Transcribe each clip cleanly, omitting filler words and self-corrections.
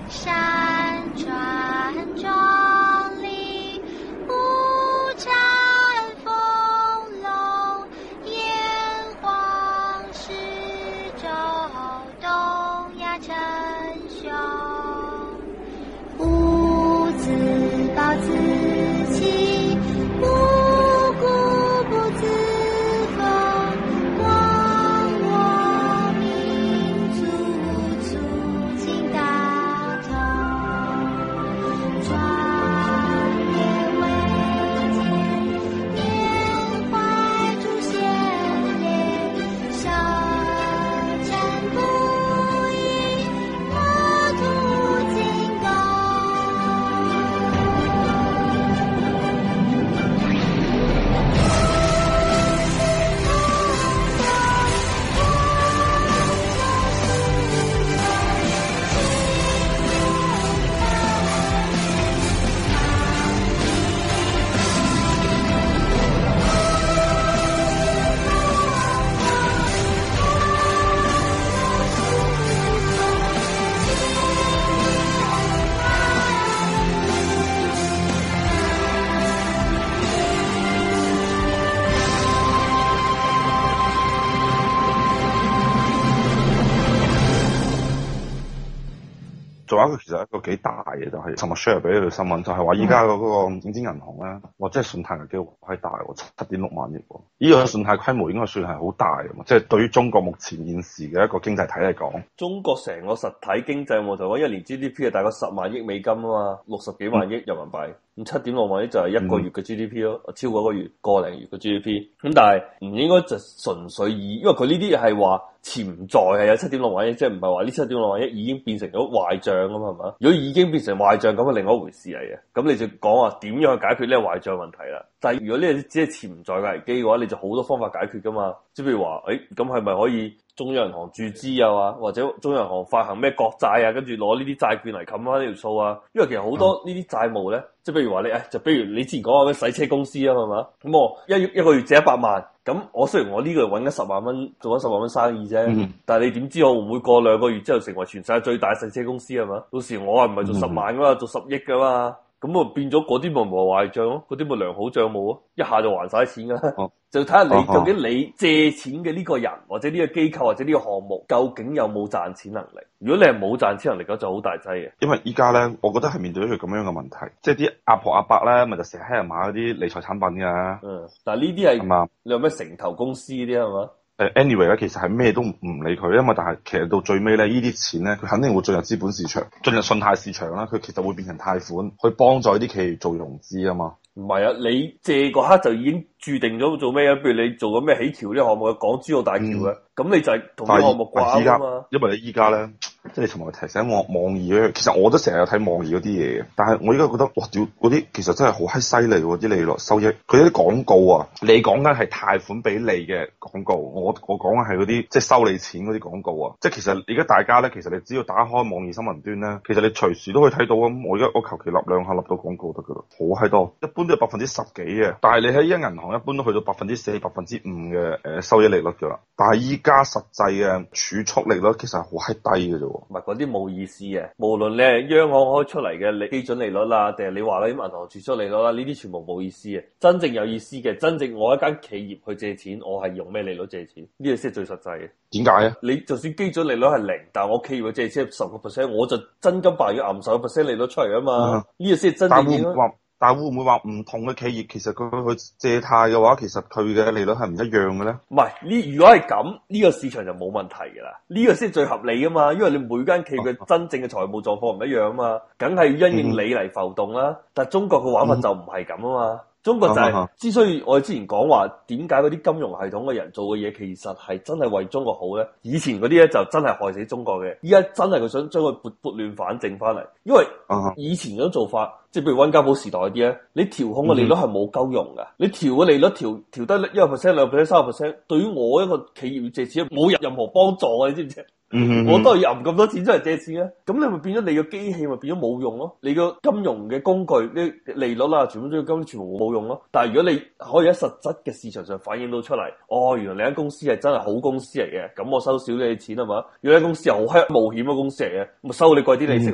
山川很壮丽，五彩丰隆，炎黄十洲，东亚称雄。吾自暴自弃，无故不自封，光我民族促进大同，壮烈伟健，缅怀祖先烈，小战不已，国土精高。 仲有一個其實一個幾大嘅就係尋日 share 俾你條新聞，就係話依家嗰個影子銀行咧，哇！即係信貸危機好閪大喎，7.6萬億喎，呢個信貸規模應該算係好大嘅嘛，即係對於中國目前現時嘅一個經濟體嚟講， 中國成個實體經濟我就講一年 GDP 係大概10萬億美金啊嘛，60幾萬億人民幣。咁7.6萬億就係一個月嘅 GDP 咯，超過一個月個零月嘅 GDP。咁但係唔應該就純粹以，因為佢呢啲係話潛在係有7.6萬億，即係唔係話呢7.6萬億已經變成咗壞帳啊嘛，係嘛？如果已經變成壞帳咁係另外一回事嚟嘅，咁你就講話點樣去解決呢個壞帳問題啦。但係如果呢個只係潛在嘅危機嘅話，你就好多方法解決噶嘛。即係譬如話，咁係咪可以中央銀行注資啊，或者中央銀行發行咩國債啊，跟住攞呢啲債券嚟冚翻呢條數啊？因為其實好多呢啲債務咧，即係譬如話你，就譬如你之前講話咩洗車公司啊，係嘛？咁我一個月借100萬，咁我雖然我呢個月揾緊10萬蚊，做緊10萬蚊生意啫，但係你點知我會唔會過2個月之後成為全世界最大洗車公司係嘛？到時我係唔係做10萬噶嘛，做10億噶嘛？咁啊變咗嗰啲咪壞帳咯，嗰啲咪良好帳務咯，一下就還晒錢噶。就睇下你究竟你借錢嘅呢個人或者呢個機構或者呢個項目究竟有冇賺錢能力？如果你係冇賺錢能力咁就好大劑嘅。 因為依家咧，我覺得係面對一個咁樣嘅問題，即係啲阿婆阿伯咧，咪就成日喺人買嗰啲理財產品㗎。 但係呢啲係嘛？ 你有咩城投公司嗰啲係嘛 ？anyway 咧，其實係咩都唔理佢，因為但係其實到最尾咧，呢啲錢咧，佢肯定會進入資本市場，進入信貸市場啦。佢其實會變成貸款，去幫助啲企業做融資啊嘛。 唔係啊，你借嗰刻就已經注定咗做咩啊？譬如你做緊咩起橋呢個項目嘅港珠澳大橋嘅，咁你就係同呢個項目掛鈎啊嘛。 因為你依家咧，即係你尋日提醒我網易咧，其實我都成日有睇網易嗰啲嘢嘅，但係我依家覺得哇屌，嗰啲其實真係好閪犀利喎，啲利率收益，佢啲廣告啊，你講緊係貸款俾你嘅廣告，我講緊係嗰啲即係收你錢嗰啲廣告啊，即係其實而家大家咧，其實你只要打開網易新聞端咧，其實你隨時都可以睇到啊。我而家我求其立兩下立到廣告得噶啦，好閪多，一般都係10%幾嘅，但係你喺依間銀行一般都去到4%、5%嘅收益利率噶啦，但係依家實際嘅儲蓄利率其實係好閪低嘅啫。 唔係嗰啲冇意思嘅，無論你係央行開出嚟嘅基準利率啦，定係你話嗰啲銀行儲蓄利率啦，呢啲全部冇意思嘅。真正有意思嘅，真正我一間企業去借錢，我係用咩利率借錢？呢個先係最實際嘅。 點解啊？ 你就算基準利率係0，但係我企業嘅借錢係10%，我就真金白銀揞10%利率出嚟啊嘛。呢個先係真正嘅。 但會唔會話唔同嘅企業其實佢去借貸嘅話，其實佢嘅利率係唔一樣嘅咧？ 唔係呢，如果係咁，呢個市場就冇問題㗎啦。呢個先係最合理㗎嘛，因為你每間企業嘅真正嘅財務狀況唔一樣啊嘛，梗係要因應你嚟浮動啦。但係中國嘅玩法就唔係咁啊嘛。中國就係之所以我哋之前講話點解嗰啲金融系統嘅人做嘅嘢其實係真係為中國好咧？以前嗰啲咧就真係害死中國嘅，依家真係佢想將佢撥亂反正翻嚟。因為以前嗰種做法，即係譬如溫家寶時代啲咧，你調控嘅利率係冇鳩用㗎。你調嘅利率調低1%、2%、3%，對於我一個企業要借錢冇任何幫助啊！你知唔知？我都係揞咁多錢出嚟借錢啊！咁你咪變咗你個機器咪變咗冇用咯？你個金融嘅工具啲利率啦，全部都全部冇用咯。但係如果你可以喺實質嘅市場上反映到出嚟，原來你間公司係真係好公司嚟嘅，咁我收少你錢係嘛？如果你間公司係好閪冒險嘅公司嚟嘅，咪收你貴啲利息咯。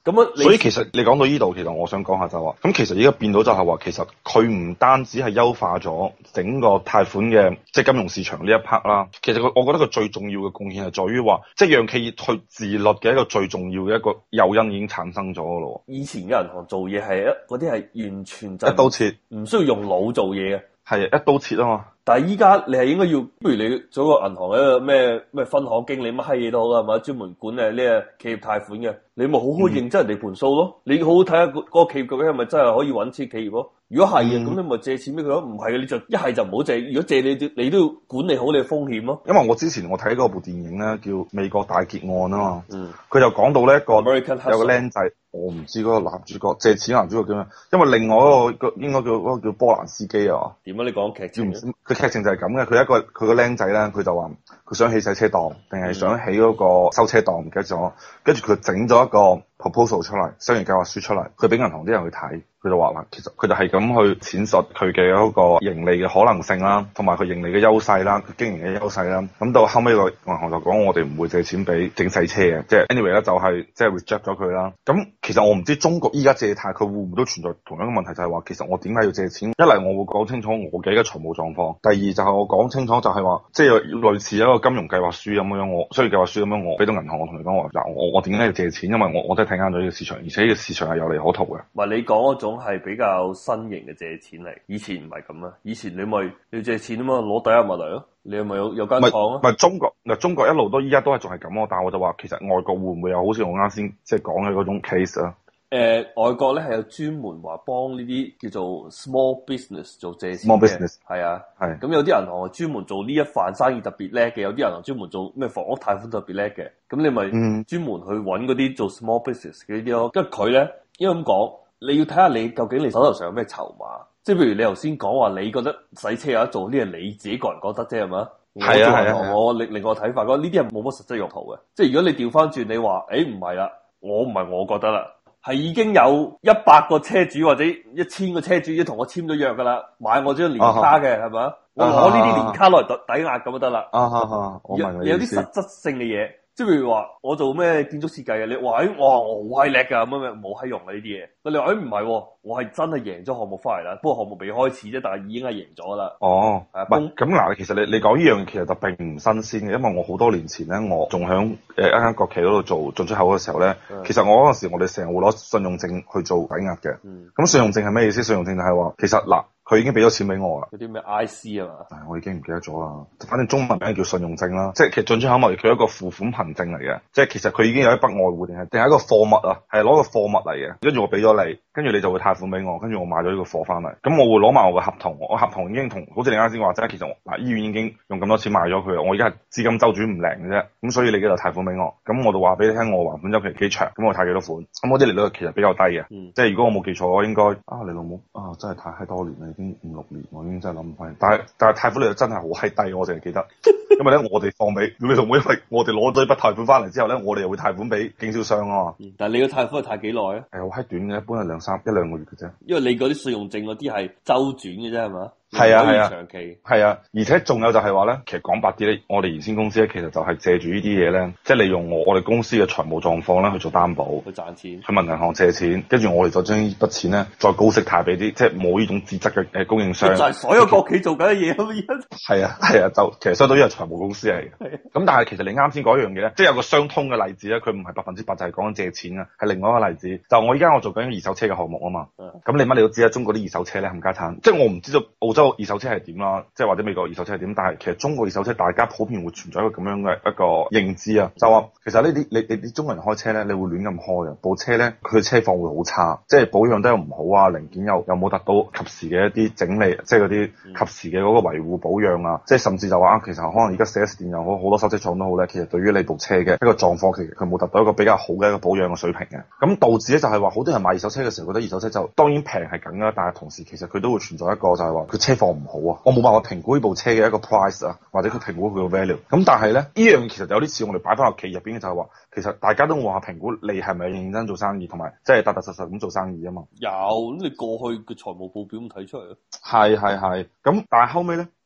咁啊， 所以其實你講到呢度，其實我想講下就係話，咁其實而家變到就係話，其實佢唔單止係優化咗整個貸款嘅即係金融市場呢一 part 啦，其實我覺得佢最重要嘅貢獻係在於話，即係讓企業去自律嘅一個最重要嘅一個誘因已經產生咗嘅咯。 以前嘅銀行做嘢係嗰啲係完全就一刀切， 唔需要用腦做嘢嘅。 係一刀切啊嘛。 但係依家你係應該要，不如你做個銀行嘅一個咩分行經理乜閪嘢都好啦，係咪？專門管呢個企業貸款嘅，你咪好好認真人哋盤數咯。你好好睇下嗰個企業究竟係咪真係可以揾錢企業咯？如果係嘅，咁你咪借錢俾佢咯。唔係嘅，你就一係就唔好借。如果借你都要管理好你嘅風險咯。 因為我之前我睇嗰部電影咧，叫《美國大劫案》啊嘛，佢就講到呢一個有個僆仔，我唔知嗰個男主角借錢男主角叫咩，因為另外一個應該叫波蘭斯基啊。 點啊？你講劇情？ 佢劇情就係咁嘅，佢個僆仔咧，佢就話佢想起洗車檔，定係想起嗰個收車檔，唔記得咗。跟住佢整咗一個 proposal 出嚟，商業計劃書出嚟，佢俾銀行啲人去睇。佢就話啦，其實佢就係咁去闡述佢嘅嗰個盈利嘅可能性啦，同埋佢盈利嘅優勢啦，佢經營嘅優勢啦。咁到後尾個銀行就講，我哋唔會借錢俾整洗車嘅，即係 anyway 咧就係即係 reject 咗佢啦。咁其實我唔知中國依家借貸佢會唔會都存在同樣嘅問題，就係話其實我點解要借錢？一嚟我會講清楚我嘅一個財務狀況，第二就係我講清楚就係話，即係類似一個金融計劃書咁樣，我商業計劃書咁樣，我俾到銀行，我同你講話嗱，我點解要借錢？因為我真係睇啱咗呢個市場，而且呢個市場係有利可圖嘅。 唔係你講嗰種係比較新型嘅借錢嚟，以前唔係咁啊！以前你咪要借錢啊嘛，攞抵押物嚟咯，你係咪有間廠啊？ 唔係中國一路都依家都係仲係咁咯，但係我就話其實外國會唔會有好似我啱先即係講嘅嗰種 case 啊？ 外國咧係有專門話幫呢啲叫做 small business 做借錢嘅， small business 係啊， 係咁有啲銀行係專門做呢一範生意特別叻嘅，有啲銀行專門做咩房屋貸款特別叻嘅，咁你咪專門去揾嗰啲做 small business 嘅呢啲咯。跟住佢咧，因為咁講，你要睇下你究竟你手頭上有咩籌碼，即係譬如你頭先講話，你覺得洗車有得做，呢係你自己個人覺得啫，係嘛？ 係啊， 我另外睇法，覺得呢啲係冇乜實質用途嘅。即係如果你調翻轉，你話唔係啦，我覺得啦。係已經有100個車主或者1000個車主已經同我簽咗約噶啦，買我張年卡嘅係咪？我攞呢啲年卡落嚟抵押咁就得啦。 我明你有啲實質性嘅嘢，即係譬如話我做咩建築設計嘅，你話我好閪叻噶，乜冇閪用啊呢啲嘢。你話唔係，我係真係贏咗項目翻嚟啦，不過項目未開始啫，但係已經係贏咗啦。 咁嗱，其實你講呢樣其實就並唔新鮮嘅，因為我好多年前咧，我仲響一間國企嗰度做進出口嘅時候咧，其實我嗰陣時我哋成日會攞信用證去做抵押嘅。咁信用證係咩意思？信用證就係話，其實嗱。佢已經俾咗錢俾我啦。 嗰啲咩 IC 啊嘛？ 我已經唔記得咗啦。反正中文名叫信用證啦，即係其實進出口貿易佢係一個付款憑證嚟嘅，即係其實佢已經有一筆外匯定係一個貨物啊，係攞個貨物嚟嘅。跟住我俾咗你，跟住你就會貸款俾我，跟住我買咗呢個貨翻嚟。咁我會攞埋我嘅合同，我合同已經同好似你啱先話齋，其實嗱醫院已經用咁多錢買咗佢啦。我而家係資金周轉唔靈嘅啫，咁所以你幾度貸款俾我，咁我就話俾你聽我還款周期幾長，咁我貸幾多款，咁嗰啲利率其實比較低嘅。即係如果我冇記錯，我應該你老母真係太多年啦，已經5、6年。我已經真係諗唔翻，但係貸款率真係好閪低，我淨係記得，因為咧我哋放俾你老母，因為我哋攞咗一筆貸款翻嚟之後咧，我哋又會貸款俾經銷商啊嘛。 但係你個貸款係貸幾耐啊？ 係好閪短嘅，一般係1、2個月嘅啫。 因為你嗰啲信用證嗰啲係周轉嘅啫，係嘛？ 係啊， 長期係啊，而且仲有就係話咧，其實講白啲咧，我哋原先公司咧，其實就係借住呢啲嘢咧，即係利用我哋公司嘅財務狀況咧去做擔保， 去賺錢，去問銀行借錢，跟住我哋再將呢筆錢咧再高息貸俾啲即係冇呢種資質嘅供應商。 就係所有國企做緊嘅嘢咁樣。 係啊，就其實相當於係財務公司嚟嘅。咁但係其實你啱先嗰樣嘢咧，即係有個相通嘅例子咧，佢唔係100%就係講緊借錢啊，係另外一個例子。就我依家我做緊二手車嘅項目啊嘛。咁你乜你都知啦，中國啲二手車咧冚家鏟，即係我唔知道澳洲二手車係點啦，即係或者美國二手車係點，但係其實中國二手車大家普遍會存在一個咁樣嘅一個認知啊，就話其實呢啲你中國人開車咧，你會亂咁開啊，部車咧佢車況會好差，即係保養得又唔好啊，零件又冇達到及時嘅一啲整理，即係嗰啲及時嘅嗰個維護保養啊，即係甚至就話其實可能而家 4S 店又好，好多修車廠都好咧，其實對於你部車嘅一個狀況，其實佢冇達到一個比較好嘅一個保養嘅水平嘅，咁導致咧就係話好多人買二手車嘅時候覺得二手車就當然平係緊啦，但係同時其實佢都會存在一個就係話佢車況唔好啊，我冇辦法評估呢部車嘅一個 price 啊，或者佢評估佢個 value。咁但係咧，呢樣其實有啲似我哋擺翻落企業入邊嘅就係話，其實大家都會話評估你係咪認真做生意，同埋即係踏踏實實咁做生意啊嘛。 有，咁你過去嘅財務報表咁睇出嚟咯。 係，咁但係後尾咧。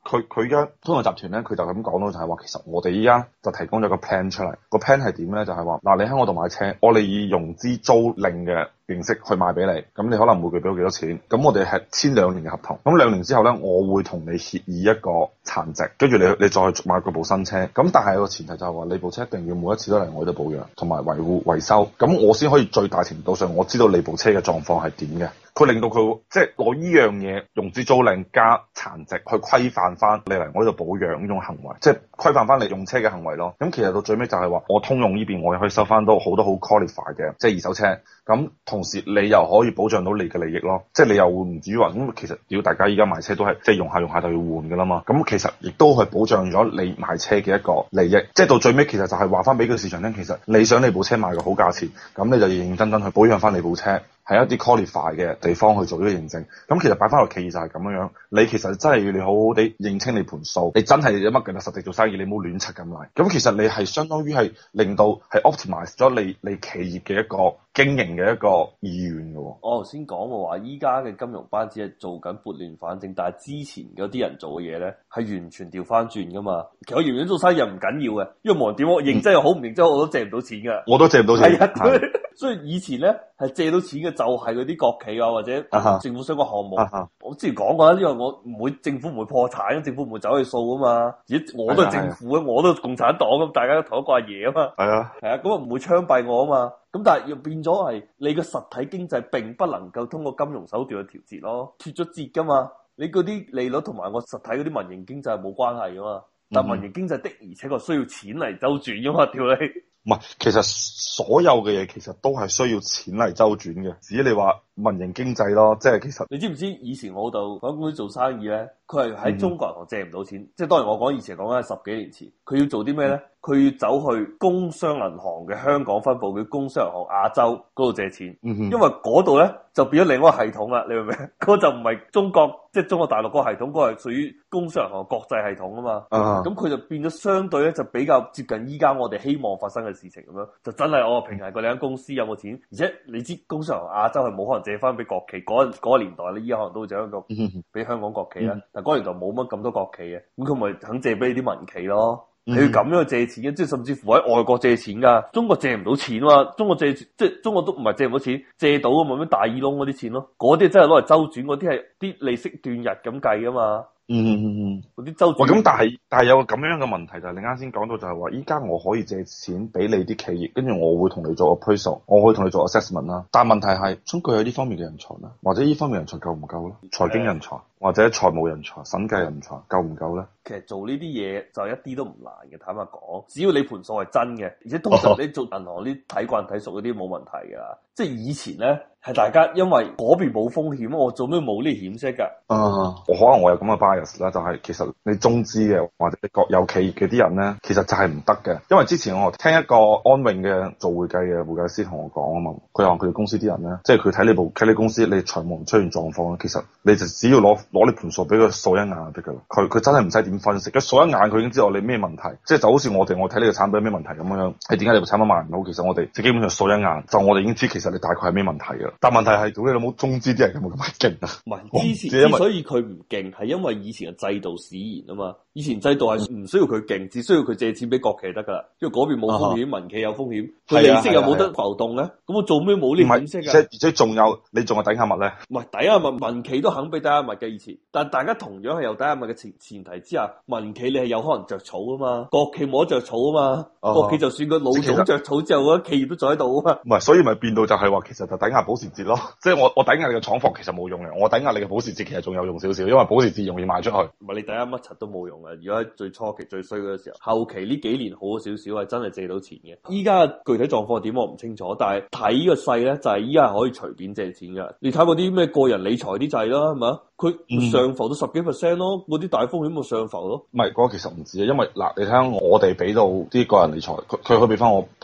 佢而家通用集團咧，佢就咁講到就係話，其實我哋依家就提供咗個 plan 出嚟，個 plan 係點咧？就係話嗱，你喺我度買車，我哋以融資租賃嘅形式去賣俾你，咁你可能每個月俾我幾多錢？咁我哋係簽2年嘅合同，咁2年之後咧，我會同你協議一個殘值，跟住你再去買嗰部新車。咁但係個前提就係話，你部車一定要每一次都嚟我度保養同埋維護維修，咁我先可以最大程度上我知道你部車嘅狀況係點嘅。佢令到佢即係攞依樣嘢融資租賃加殘值去規範翻你嚟我呢度保養呢種行為，即係規範翻你用車嘅行為咯。咁其實到最尾就係話，我通用呢邊我又可以收翻到好多好 qualify 嘅即係二手車，咁同時你又可以保障到你嘅利益咯。即係你又會唔至於話咁，其實如果大家依家買車都係即係用下就要換噶啦嘛。咁其實亦都係保障咗你買車嘅一個利益。即係到最尾其實就係話翻俾個市場聽，其實你想你部車賣個好價錢，咁你就認認真真去保養翻你部車。喺一啲 qualify 嘅地方去做呢個認證，咁其實擺翻落企業就係咁樣樣。你其實真係要你好好地認清你盤數，你真係有乜嘅實際做生意，你唔好亂柒咁嚟。咁其實你係相當於係令到係 optimize 咗你企業嘅一個經營嘅一個意願嘅。 我頭先講嘅話，依家嘅金融班子係做緊撥亂反正，但係之前嗰啲人做嘅嘢咧係完全調翻轉噶嘛。其實我原本做生意又唔緊要嘅，因為無論點我認真又好唔認真，我都借唔到錢噶。 我都借唔到錢。 係啊，所以以前咧係借到錢嘅就係嗰啲國企啊或者政府相關項目。我之前講過啦，因為我唔會政府唔會破產，政府唔會走去數啊嘛。而我都係政府啊，我都係共產黨咁，大家都同一個阿爺啊嘛。係啊，咁啊唔會槍斃我啊嘛。咁但係又變咗係你個實體經濟並不能夠通過金融手段去調節咯，脫咗節噶嘛。你嗰啲利率同埋我實體嗰啲民營經濟係冇關係噶嘛。但民營經濟的而且確需要錢嚟周轉噶嘛，屌你！ 唔係，其實所有嘅嘢其實都係需要錢嚟周轉嘅。至於你話民營經濟咯，即係其實你知唔知以前我老豆喺公司做生意咧，佢係喺中國銀行借唔到錢。即係當然我講以前講緊係10幾年前，佢要做啲咩咧？佢要走去工商銀行嘅香港分部，叫工商銀行亞洲嗰度借錢。因為嗰度咧就變咗另一個系統啦，你明唔明？嗰就唔係中國即係中國大陸嗰個系統，嗰個係屬於工商銀行國際系統啊嘛。咁佢就變咗相對咧就比較接近依家我哋希望發生嘅事情咁樣，就真係我平衡過你間公司有冇錢，而且你知工商銀行亞洲係冇可能借翻俾國企嗰個年代咧，依家可能都會借一個俾香港國企啦。但係嗰年代冇乜咁多國企嘅，咁佢咪肯借俾你啲民企咯。你要咁樣借錢嘅，即係甚至乎喺外國借錢噶，中國借唔到錢嘛？中國借即係中國都唔係借唔到錢，借到咁咪咩大耳窿嗰啲錢咯？嗰啲真係攞嚟周轉，嗰啲係啲利息斷日咁計噶嘛？嗰啲周轉。喂， 咁但係有個咁樣嘅問題就係你啱先講到就係話，依家我可以借錢俾你啲企業，跟住我會同你做 appraisal，我會同你做 assessment 啦。但係問題係，中國有呢方面嘅人才啦，或者呢方面人才夠唔夠咧？財經人才或者財務人才、審計人才夠唔夠咧？ 其實做呢啲嘢就一啲都唔難嘅，坦白講，只要你盤數係真嘅，而且通常你做銀行啲睇慣睇熟嗰啲冇問題噶。即係以前咧係大家因為嗰邊冇風險，我做咩冇呢險色噶？我可能我有咁嘅 bias 啦，就係其實你中資嘅或者你國有企業嘅啲人咧，其實就係唔得嘅。因為之前我聽一個安永嘅做會計嘅會計師同我講啊嘛，佢話佢哋公司啲人咧，即係佢睇你公司你財務出現狀況咧，其實你就只要攞你盤數俾佢掃一眼就得噶啦。佢真係唔使點分析，佢掃一眼佢已經知道你咩問題。即係就好似我睇呢個產品有咩問題咁樣，係點解你部產品賣唔好？其實我哋即基本上掃一眼，就我哋已經知其實你大概係咩問題噶啦。但問題係，屌你老母中資啲人有冇咁勁啊？ 唔係之所以佢唔勁，係因為以前嘅制度使然啊嘛。以前制度係唔需要佢勁，只需要佢借錢俾國企得噶啦。因為嗰邊冇風險，民企有風險，佢利息又冇得浮動咧。咁我做咩冇呢險息啊？ 而且仲有你仲係抵押物咧？ 唔係抵押物，民企都肯俾抵押物嘅以前。但大家同樣係有抵押物嘅前提之下，民企你係有可能着草啊嘛，國企冇得着草啊嘛。國企就算個老總着草之後，嗰啲企業都在喺度啊嘛。 唔係，所以咪變到就係話，其實就抵押保時捷咯。即係我抵押你嘅廠房其實冇用嘅，我抵押你嘅保時捷其實仲有用少少，因為保時捷容易賣出去。唔係你抵押乜柒都冇用嘅。如果喺最初期最衰嗰個時候，後期呢幾年好少少係真係借到錢嘅。依家具體狀況點我唔清楚，但係睇個勢咧就係依家係可以隨便借錢嘅。你睇嗰啲咩個人理財啲掣啦，係嘛？佢上浮到10幾% 咯，嗰啲大風險咪上浮咯。 唔係嗰個其實唔止啊，因為嗱，你睇下我哋俾到啲個人理財，佢可以俾翻我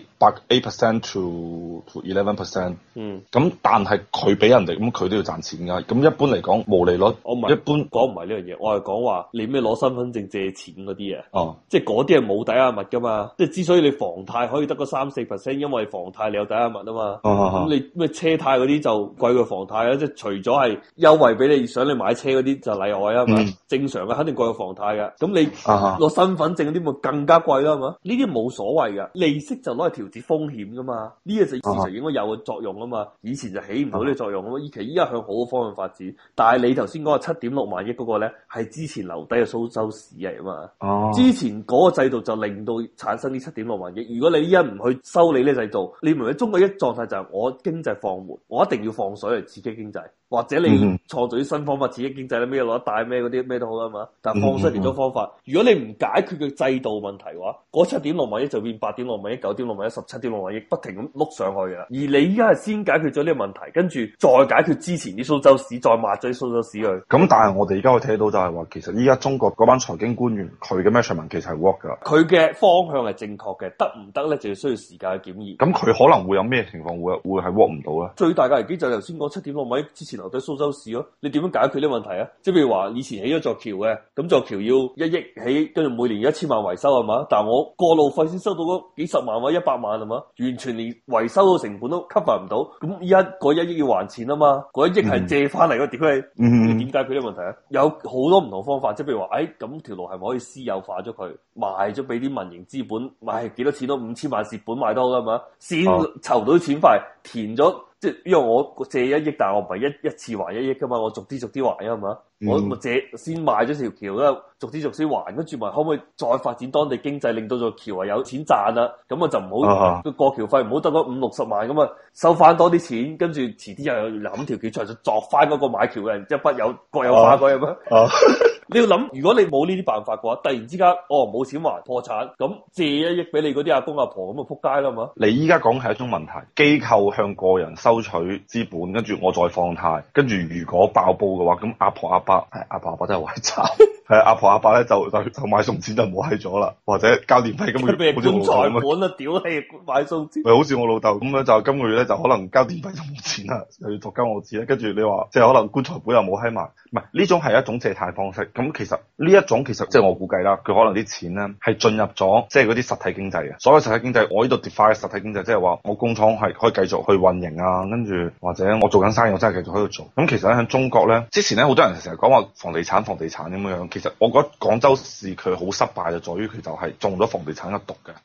8% to 11%。咁但係佢俾人哋，咁佢都要賺錢㗎。咁一般嚟講，毛利率我唔係一般講唔係呢樣嘢，我係講話你咩攞身份證借錢嗰啲啊。即係嗰啲係冇抵押物㗎嘛。即係之所以你房貸可以得個3-4%，因為房貸你有抵押物啊嘛。咁你咩車貸嗰啲就貴過房貸啦。即係除咗係優惠俾你，想你買車嗰啲就例外啊嘛，正常嘅肯定國有房貸嘅，咁你攞身份證嗰啲咪更加貴啦嘛，呢啲冇所謂嘅，利息就攞嚟調節風險噶嘛，呢個就市場應該有嘅作用啊嘛，以前就起唔到呢個作用啊嘛，依家向好嘅方向發展，但係你頭先講嘅7.6萬億嗰個咧係之前留低嘅蘇州市嚟啊嘛，之前嗰個制度就令到產生呢7.6萬億，如果你依家唔去修理呢個制度，你明唔明中國一狀態就係我經濟放緩，我一定要放水嚟刺激經濟。或者你創造啲新方法刺激經濟咧，咩攞得大咩嗰啲咩都好啦嘛。但係放水其中方法，如果你唔解決佢制度問題嘅話，嗰7.6萬億就變8.6萬億、9.6萬億、17.6萬億，不停咁碌上去嘅。而你依家係先解決咗呢個問題，跟住再解決之前啲蘇州市，再抹咗啲蘇州市去。 咁但係我哋而家可以睇到就係話，其實依家中國嗰班財經官員佢嘅 measurement 其實係 work 㗎。 佢嘅方向係正確嘅，得唔得咧就要需要時間去檢驗。 咁佢可能會有咩情況會係 work 唔到咧？ 最大嘅危機就係頭先講7.6萬億之前留低蘇州市咯，你點樣解決呢個問題啊？即係譬如話以前起咗座橋嘅，咁座橋要1億起，跟住每年1000萬維修係嘛？但係我過路費先收到嗰幾十萬或者100萬係嘛？完全連維修嘅成本都 cover 唔到，咁依家嗰1億要還錢啊嘛？嗰1億係借翻嚟嘅，點解？你點解決呢個問題啊？有好多唔同方法，即係譬如話，咁條路係咪可以私有化咗佢，賣咗俾啲民營資本，賣幾多錢都5000萬蝕本賣都好啦嘛？先籌到啲錢快，填咗。即係因為我借1億，但係我唔係一次還1億噶嘛，我逐啲還啊嘛，我咪借先賣咗條橋啦，逐啲還，跟住咪可唔可以再發展當地經濟，令到座橋係有錢賺啦？咁啊就唔好個過橋費唔好得嗰50-60萬咁啊，收翻多啲錢，跟住遲啲又諗條橋出嚟，就作翻嗰個買橋嘅人，一筆國有化嗰樣咩？你要諗，如果你冇呢啲辦法嘅話，突然之間冇錢還破產，咁借1億俾你嗰啲阿公阿婆咁啊撲街啦嘛！ 你依家講係一種問題，機構向個人收取資本，跟住我再放貸，跟住如果爆煲嘅話，咁阿婆阿伯真係壞渣，係阿婆阿伯咧就買餸錢就冇閪咗啦，或者交電費咁樣，好似我老豆咁啊，屌你買餸錢， 咪好似我老豆咁樣，就今個月咧就可能交電費就冇錢啦，又要作交我錢咧，跟住你話即係可能棺材本又冇閪埋，唔係呢種係一種借貸方式。咁其實呢一種其實即係我估計啦，佢可能啲錢咧係進入咗即係嗰啲實體經濟嘅。所謂實體經濟，我呢度 define 實體經濟，即係話我工廠係可以繼續去運營啊，跟住或者我做緊生意，我真係繼續喺度做。咁其實咧喺中國咧，之前咧好多人成日講話房地產咁樣，其實我覺得廣州市佢好失敗就在於佢就係中咗房地產嘅毒嘅。